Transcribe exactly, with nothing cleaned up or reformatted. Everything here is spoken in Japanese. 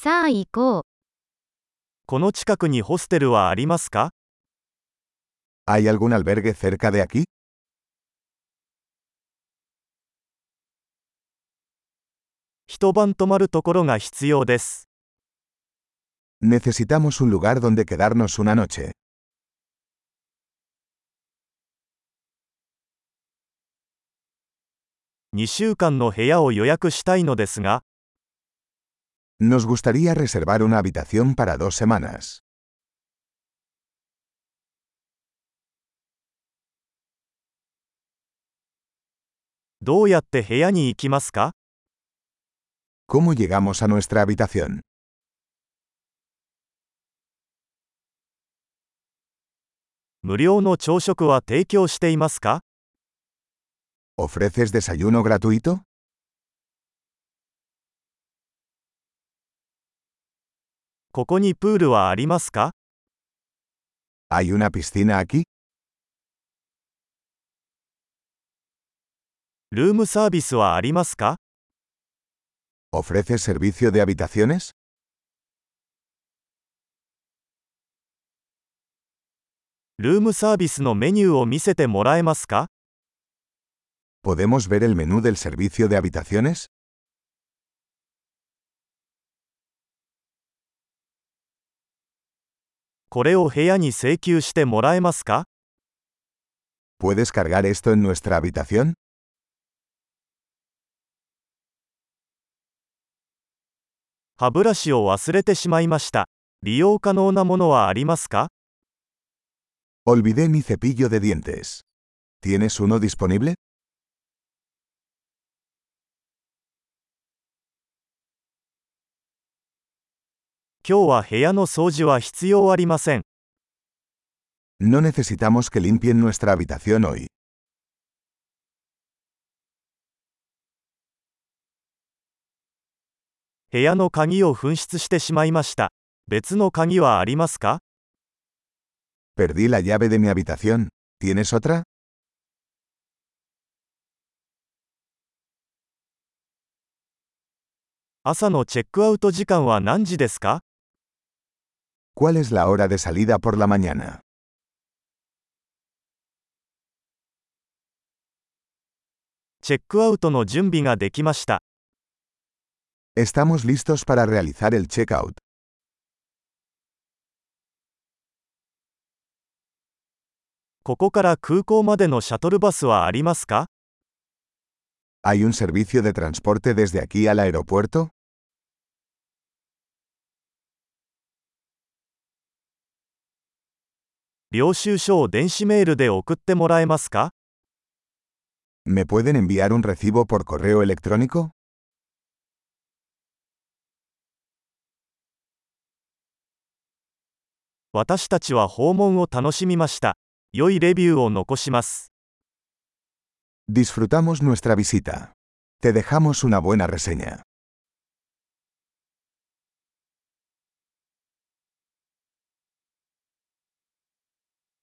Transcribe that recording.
さあ行こう。 この近くにホステルはありますか？ ¿Hay algún albergue cerca de aquí? 一晩泊まるところが必要です。 Necesitamos un lugar donde quedarnos una noche. にしゅうかんの部屋を予約したいのですが、 Nos gustaría reservar una habitación para dos semanas. どうやって部屋に行きますか？ ¿Cómo llegamos a nuestra habitación? 無料の朝食は提供していますか？ ¿Ofreces desayuno gratuito? ここにプールはありますか？ ¿Hay una piscina aquí? ルームサービスはありますか？ ¿Ofreces servicio de habitaciones? ルームサービスのメニューを見せてもらえますか？ ¿Podemos ver el menú del servicio de habitaciones? これを部屋に請求してもらえますか？ ¿Puedes cargar esto en nuestra habitación? 歯ブラシを忘れてしまいました。利用可能なものはありますか？ Olvidé mi cepillo de dientes. ¿Tienes uno disponible? 今日は部屋の掃除は必要ありません。 No necesitamos que limpien nuestra habitación hoy. 部屋の鍵を紛失してしまいました。別の鍵はありますか？ Perdí la llave de mi habitación. ¿Tienes otra? 朝のチェックアウト時間は何時ですか？ ¿Cuál es la hora de salida por la mañana? チェックアウトの準備ができました。 Estamos listos para realizar el checkout. ここから空港までのシャトルバスはありますか？ ¿Hay un servicio de transporte desde aquí al aeropuerto? 領収書を電子メールで送ってもらえますか？ ¿Me pueden enviar un recibo por correo electrónico? 私たちは訪問を楽しみました。良いレビューを残します。 Disfrutamos nuestra visita. Te dejamos una buena reseña.